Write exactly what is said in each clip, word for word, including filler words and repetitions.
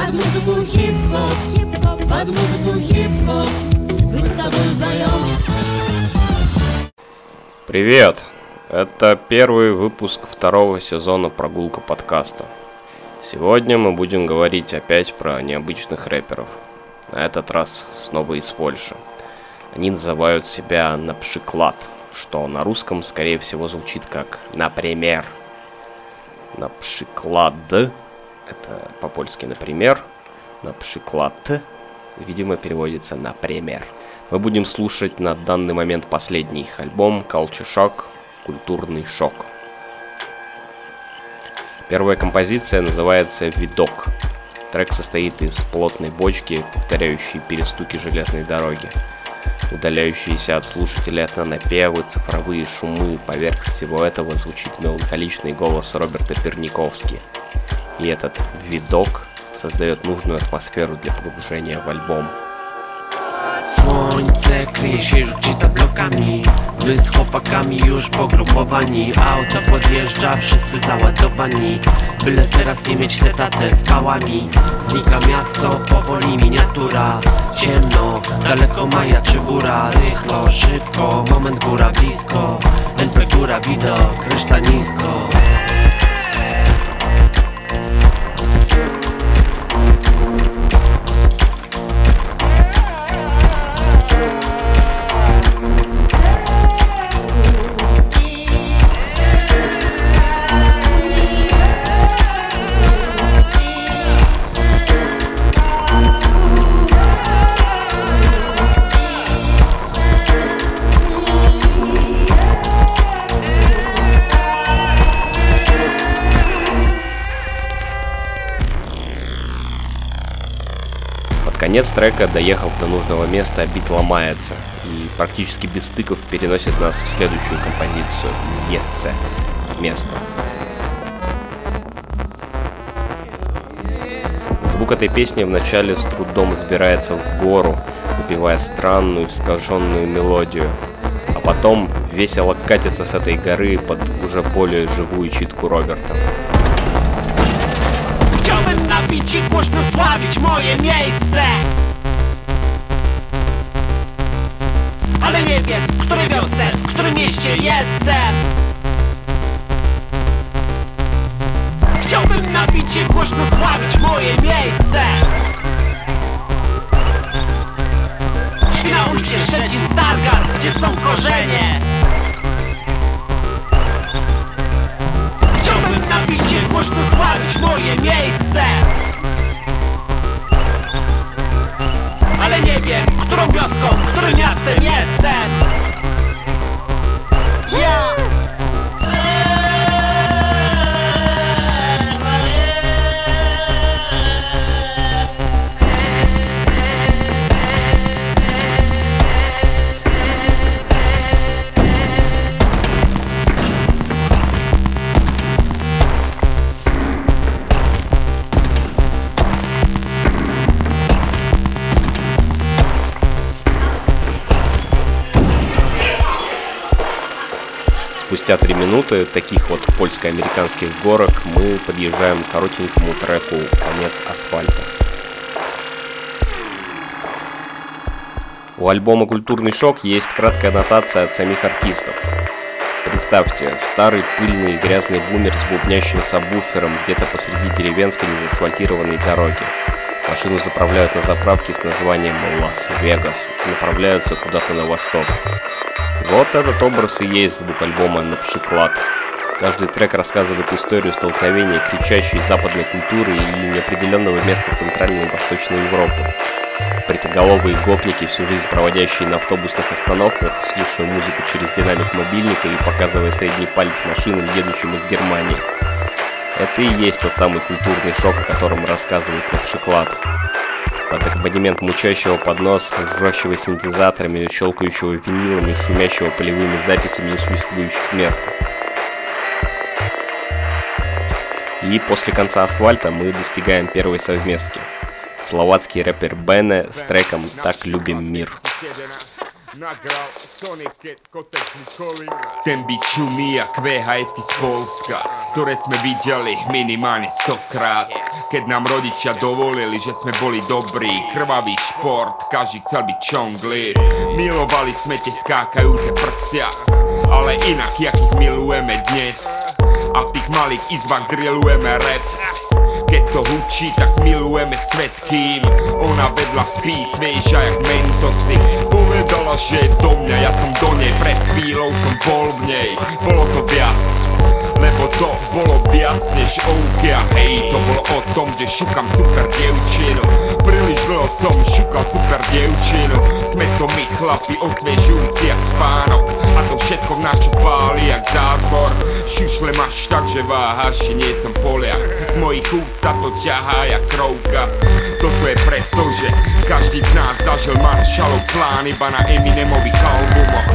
Под музыку хип-хоп, хип-хоп, под музыку хип-хоп, быть с тобой вдвоем. Привет! Это первый выпуск второго сезона «Прогулка подкаста». Сегодня мы будем говорить опять про необычных рэперов. На этот раз снова из Польши. Они называют себя «Напшиклад», что на русском, скорее всего, звучит как «например». «Напшиклад» — это по-польски «например». «Напшиклад» видимо переводится «например». Мы будем слушать на данный момент последний их альбом «Culture Shock» «Культурный шок». Первая композиция называется «Видок». Трек состоит из плотной бочки, повторяющей перестуки железной дороги, удаляющиеся от слушателей этнонапевы, цифровые шумы. Поверх всего этого звучит меланхоличный голос Роберта Перниковски. И этот видок создает нужную атмосферу для погружения в альбом. Słońce kryje się już gdzieś za blokami. My z chłopakami już pogrupowani. Auto podjeżdża, wszyscy załadowani. Byle teraz nie mieć tetatę z pałami. Znika miasto, powoli miniatura. Ciemno, daleko majaczy góra. Rychlo, szybko, moment góra blisko. N P góra widok, reszta nisko. Конец трека, доехав до нужного места, бит ломается и практически без стыков переносит нас в следующую композицию «Месце» — «Место». Звук этой песни вначале с трудом взбирается в гору, напевая странную искаженную мелодию, а потом весело катится с этой горы под уже более живую читку Роберта. Chciałbym napić i głośno sławić moje miejsce, ale nie wiem, w której wiosce, w którym mieście jestem. Chciałbym napić i głośno sławić moje miejsce. Świnoujście, Szczecin, Stargard, gdzie są korzenie. Chciałbym napić i głośno sławić moje miejsce, ale nie wiem, którą wioską, którym miastem jestem. Ja! Спустя три минуты таких вот польско-американских горок мы подъезжаем к коротенькому треку «Конец асфальта». У альбома «Культурный шок» есть краткая аннотация от самих артистов. Представьте, старый пыльный и грязный бумер с бубнящим сабвуфером где-то посреди деревенской незаасфальтированной дороги. Машину заправляют на заправке с названием «Лас-Вегас» и направляются куда-то на восток. Вот этот образ и есть звук альбома «Напшиклад». Каждый трек рассказывает историю столкновения кричащей западной культуры и неопределенного места Центральной и Восточной Европы. Бритоголовые гопники, всю жизнь проводящие на автобусных остановках, слушая музыку через динамик мобильника и показывая средний палец машинам, едущим из Германии. Это и есть тот самый культурный шок, о котором рассказывает Напшиклад. Под аккомпанемент мучащего под нос, жужжащего синтезаторами, щелкающего винилами, шумящего полевыми записями несуществующих мест. И после конца асфальта мы достигаем первой совместки. Словацкий рэпер Бене с треком «Так любим мир». Ten bit šumí jak vé há esky z Polska, ktoré sme videli minimálne stokrát. Keď nám rodičia dovolili, že sme boli dobrí, krvavý šport, každý chcel byť čongli. Milovali sme tie skákajúce prsia, ale inak, jak ich milujeme dnes. A v tých malých izbách drillujeme rap. Keď to hučí, tak milujeme svet, kým ona vedľa spí, svieža jak mentosy. Povedala, že je do mňa, ja som do nej, pred chvíľou som bol v nej. Bolo to viac, lebo to bolo viac než OK. A hej, to bolo o tom, že šukam super dievčinu. Príliš dlho som šukal super dievčinu. Sme to my chlapi, osviežujúci jak spánok. A to všetko v načo páli jak zázvor. Šušle máš tak, že váhaš, že nie som Poliak. Z mojich úst sa to ťahá jak krovka. Toto je preto, že každý z nás zažil Marshallov plán iba na Eminemových albumoch.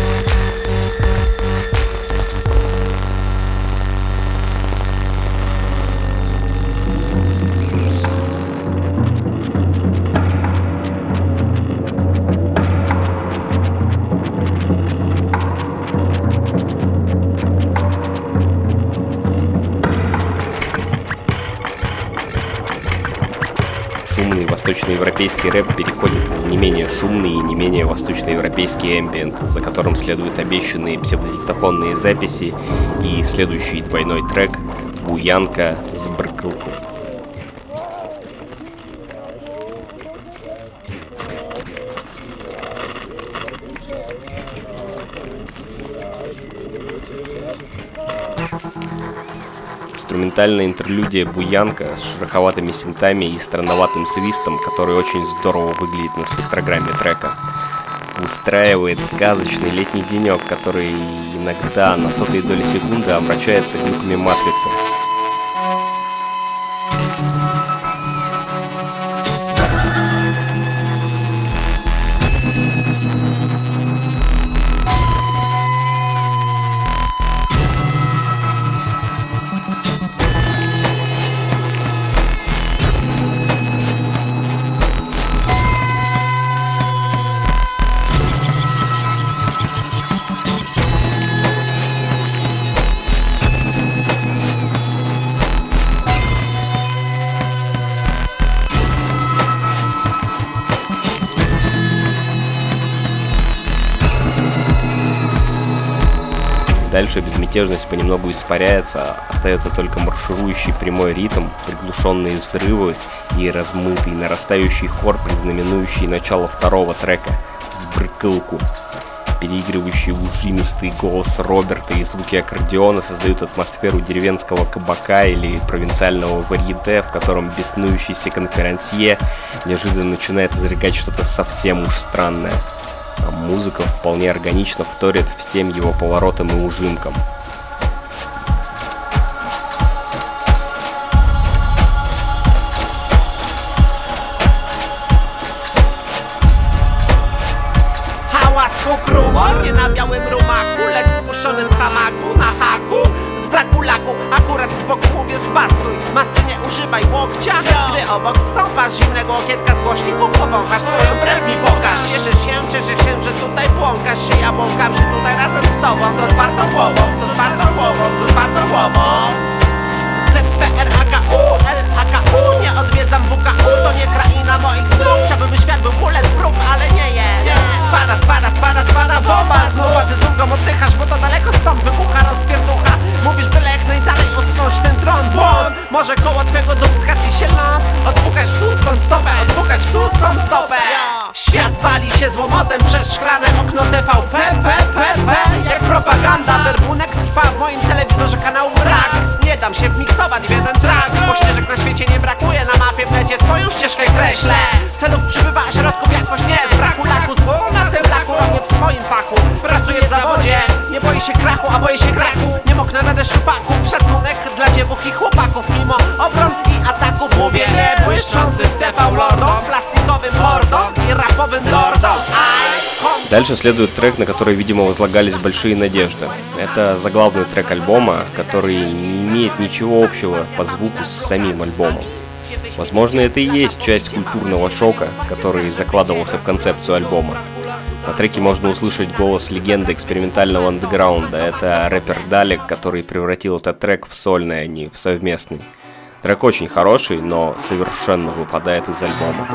Шумный восточноевропейский рэп переходит в не менее шумный и не менее восточноевропейский эмбиент, за которым следуют обещанные псевдодиктофонные записи и следующий двойной трек «Буянка с бркылку». Инструментальная интерлюдия «Буянка» с шероховатыми синтами и странноватым свистом, который очень здорово выглядит на спектрограмме трека, выстраивает сказочный летний денек, который иногда на сотые доли секунды омрачается глюками матрицы. Дальше безмятежность понемногу испаряется, остается только марширующий прямой ритм, приглушенные взрывы и размытый нарастающий хор, признаменующий начало второго трека «Сбркылку». Переигрывающий ужимистый голос Роберта и звуки аккордеона создают атмосферу деревенского кабака или провинциального варьете, в котором беснующийся конферансье неожиданно начинает изрыгать что-то совсем уж странное. А музыка вполне органично вторит всем его поворотам и ужимкам. Hałas chukrumo, nie na białym rumaku, lecz spuszczony z hamaku na haku. Z braku laku, akurat z boku mówię zbastuj. Masy nie używaj łokcia, gdy obok stąpasz zimnego okietka z głośników powąchasz swoją brew mi pokaż. Cieszę się, cieszę się, że tutaj błąkasz się. Ja błąkam się tutaj razem z tobą. Z otwartą głową, z otwartą głową, z otwartą głową. Z P R A K U, L A K U, nie odwiedzam W K U, to nie kraina moich snów. Chciałbym, by świat był bulletproof, ale nie jest. Spada, spada, spada, spada bomba znów, a ty z ulgą oddychasz, bo to daleko stąd wybucha rozpierducha. Mówisz byle jak najdalej odsunąć ten tron, błąd. Może koło twego dubska ci się ląd. Odpukać w tłustą stopę, odpukać w tłustą stopę. Świat pali się złomotem przez szklane okno T V P, P, P, P. Jak propaganda, werbunek trwa w moim telewizorze kanału brak. Nie dam się wmiksować w jeden track, bo ścieżek na świecie nie brakuje. Na mapie w necie swoją ścieżkę kreślę. Celów przybywa, a środków jakoś nie. Z braku laku, zło na tym laku, robię w swoim fachu. Pracuję w zawodzie, nie boję się krachu, a boję się kraku. Nie moknę na deszczu paków, szacunek dla dziewuch i chłopaków. Mimo obron i ataków mówię nie błyszczącym T V lordom, plastikowym mordom i rapowym lordom. Дальше следует трек, на который, видимо, возлагались большие надежды. Это заглавный трек альбома, который не имеет ничего общего по звуку с самим альбомом. Возможно, это и есть часть культурного шока, который закладывался в концепцию альбома. На треке можно услышать голос легенды экспериментального андеграунда. Это рэпер Далек, который превратил этот трек в сольный, а не в совместный. Трек очень хороший, но совершенно выпадает из альбома.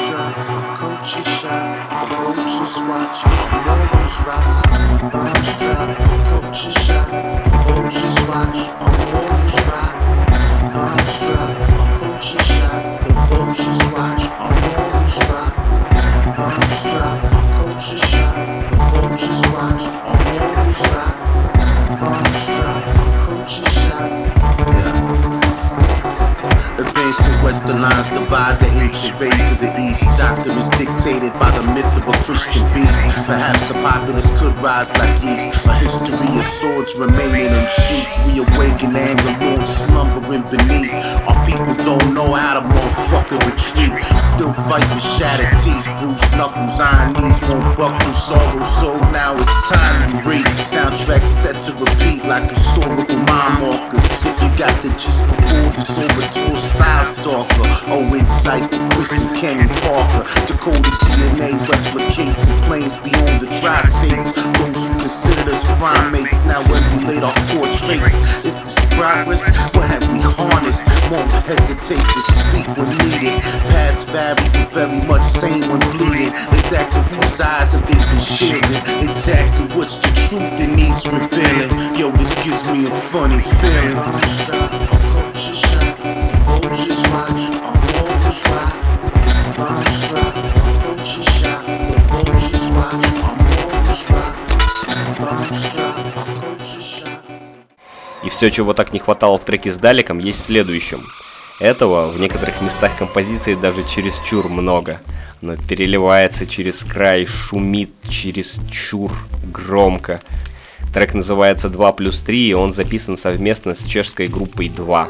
Advancing western lines divide the ancient ways of the east. Doctrine is dictated by the myth of a Christian beast. Perhaps a populace could rise like yeast. A history of swords remaining unsheathed. Reawaken anger long slumbering beneath. Our people don't know how to motherfucking retreat. Still fight with shattered teeth. Bruised knuckles, iron knees won't buckle. Sorrow, so now it's time you read. Soundtrack set to repeat like historical mind markers. If you got the gist before the sober tour styles darker. Oh, insight to Chris and Kenny Parker. Decoded D N A replicates in planes beyond the tri-states. Those who considered us primates now emulate our core traits. Is this progress? What have we harnessed? Won't hesitate to speak when needed. Paths vary but very much same when bleeding. Exactly whose eyes have they been shielded? Exactly what's the truth that needs revealing? Yo, this gives me a funny feeling. И все, чего так не хватало в треке с Далеком, есть в следующем. Этого в некоторых местах композиции даже чересчур много. Оно переливается через край, шумит чересчур громко. Трек называется два плюс три, и он записан совместно с чешской группой два.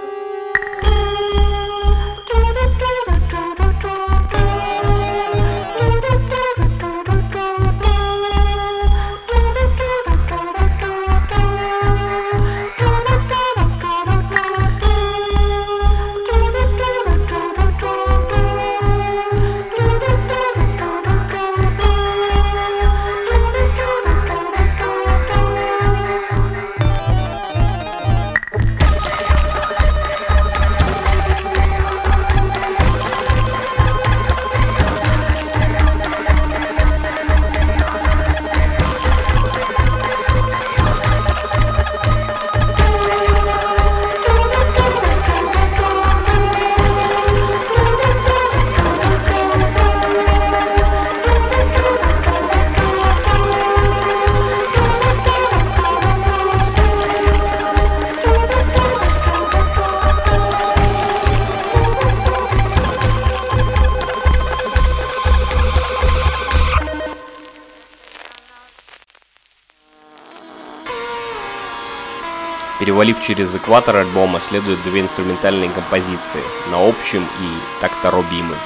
Перевалив через экватор альбома, следуют две инструментальные композиции «На общем» и «Так-то робимы».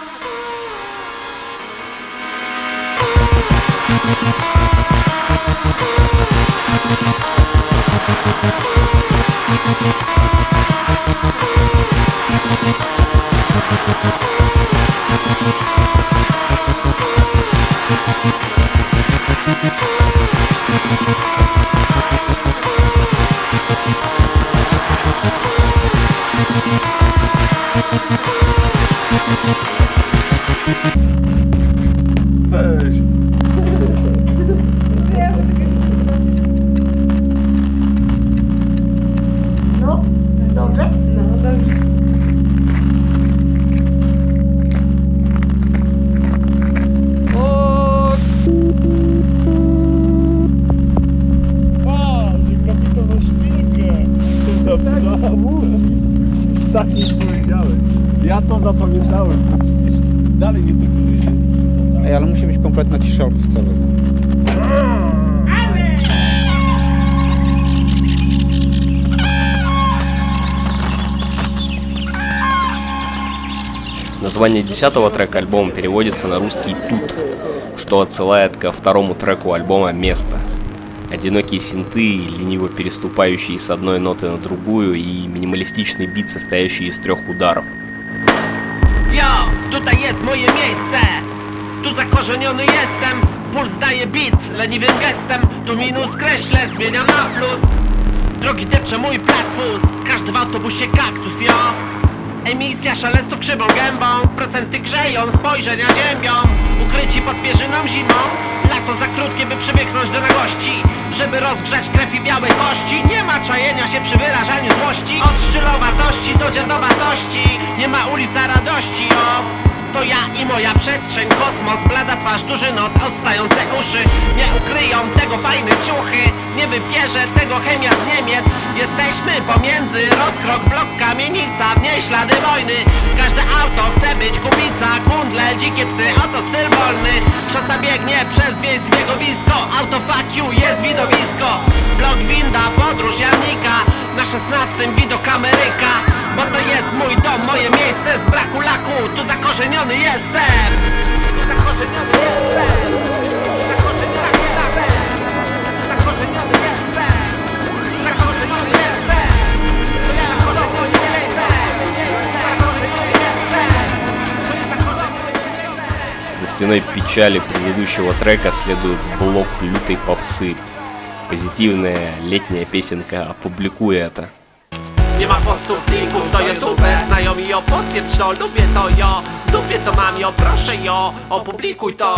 No, dobrze? No, dobrze. Tak nie powiedziałem. Ja to zapamiętałem. Dalej mnie tylko wyjdzie. Ej, ale musi być kompletna cisza ortówcowa. Название десятого трека альбома переводится на русский «Тут», что отсылает ко второму треку альбома «Место». Одинокие синты, лениво переступающие с одной ноты на другую, и минималистичный бит, состоящий из трех ударов. Jo, tutaj jest moje miejsce. Tu zakorzeniony jestem. Puls daje beat, leniwym gestem. Tu minus kreślę, zmieniam na plus. Drogi depcze mój platfus, każdy w autobusie kaktus, jo. Emisja szaleństów krzywą gębą, procenty grzeją, spojrzenia ziębią. Ukryci pod pierzyną zimą, lato za krótkie by przybiegnąć do nagości. Żeby rozgrzać krew i białe kości. Nie ma czajenia się przy wyrażaniu złości. Od szczylowatości do dziadowatości. Nie ma ulica radości, o. To ja i moja przestrzeń, kosmos, blada twarz, duży nos, odstające uszy. Nie ukryją tego fajne ciuchy, nie wybierze tego chemia z Niemiec. Jesteśmy pomiędzy, rozkrok, blok, kamienica, w niej ślady wojny. Każde auto chce być kubica, kundle, dzikie psy, oto styl wolny. Szosa biegnie przez wieś zbiegowisko, auto fuck you, jest widowisko. Blok, winda, podróż, Janika, na szesnastym widok Ameryka. Bo to jest mój dom, moje miejsce, z braku laku, tu zakorzeniony jestem. Tu zakorzeniony jestem. Tu zakorzeniony jestem. Tu zakorzeniony jestem. Tu zakorzeniony jestem. Tu zakorzeniony jestem. За стеной печали предыдущего трека следует блок лютой попсы. Позитивная летняя песенка «Опубликуй это». Nie ma postów, linków do YouTube. Znajomi ją potwierdź to, lubię to jo. W dupie to mam jo, proszę jo. Opublikuj to.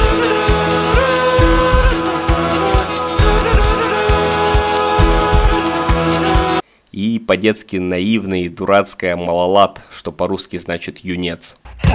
И по-детски наивная и дурацкая «Малолад», что по-русски значит «юнец».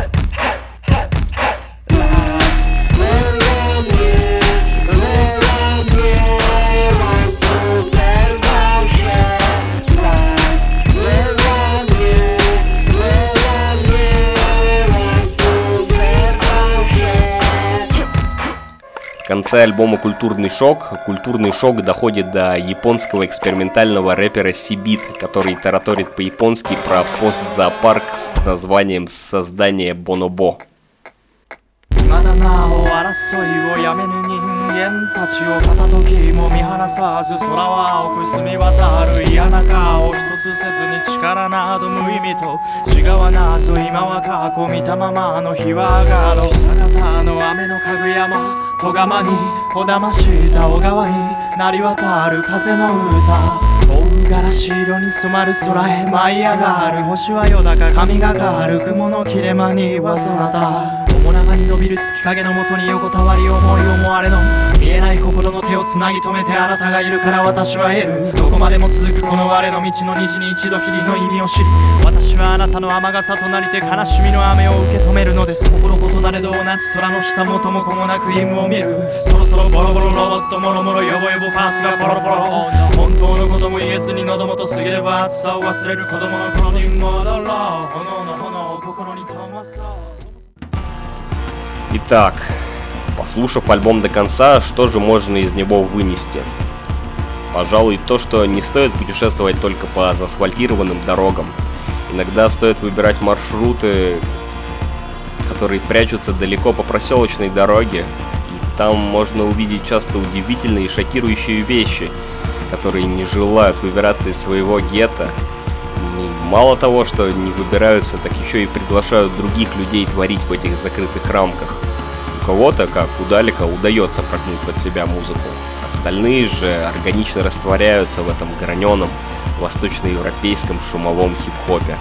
В конце альбома «Культурный шок» культурный шок доходит до японского экспериментального рэпера Сибит, который тараторит по-японски про постзоопарк с названием «Создание Бонобо». まだなお争いをやめぬ人間たちを片時も見放さず空は青く澄み渡る嫌な顔一つせずに力など無意味と違わなぞ今は過去見たままの日は上がろう久方の雨のかぐやま戸釜にこだました小川に鳴り渡る風の歌大ガラシ色に染まる空へ舞い上がる星はよだか神がかる雲の切れ間にはそなた面長に伸びる月影のもとに横たわり思い思われの見えない心の手をつなぎ止めてあなたがいるから私は得るどこまでも続くこの我の道の虹に一度きりの意味を知り私はあなたの雨傘となりて悲しみの雨を受け止めるのです心異なれど同じ空の下元も子もなく夢を見るそろそろボロボロロボットもろもろヨボヨボパーツがポロポロ本当のことも言えずに喉元過ぎれば暑さを忘れる子供の頃に戻ろう炎の炎を心に灯そう Итак, послушав альбом до конца, что же можно из него вынести? Пожалуй, то, что не стоит путешествовать только по заасфальтированным дорогам. Иногда стоит выбирать маршруты, которые прячутся далеко по проселочной дороге, и там можно увидеть часто удивительные и шокирующие вещи, которые не желают выбираться из своего гетто. И мало того, что не выбираются, так еще и приглашают других людей творить в этих закрытых рамках. У кого-то, как у Далека, удается прогнуть под себя музыку. Остальные же органично растворяются в этом граненом восточноевропейском шумовом хип-хопе.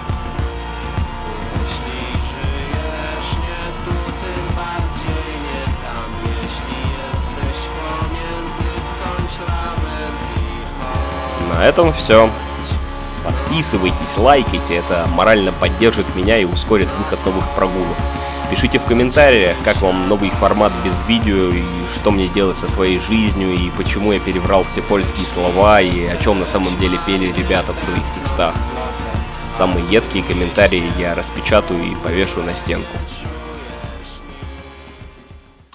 На этом все. Подписывайтесь, лайкайте, это морально поддержит меня и ускорит выход новых прогулок. Пишите в комментариях, как вам новый формат без видео, и что мне делать со своей жизнью, и почему я переврал все польские слова, и о чем на самом деле пели ребята в своих текстах. Самые едкие комментарии я распечатаю и повешу на стенку.